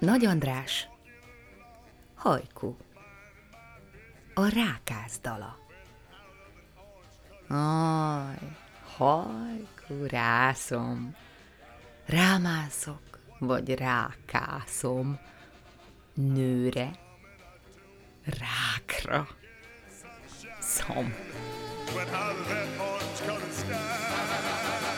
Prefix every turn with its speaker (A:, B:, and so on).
A: Nagy András, hajkú, a rákász dala. Aj, hajkú, rászom, rámászok, vagy rákászom, nőre, rákra, szom.
B: But out of that orange-colored sky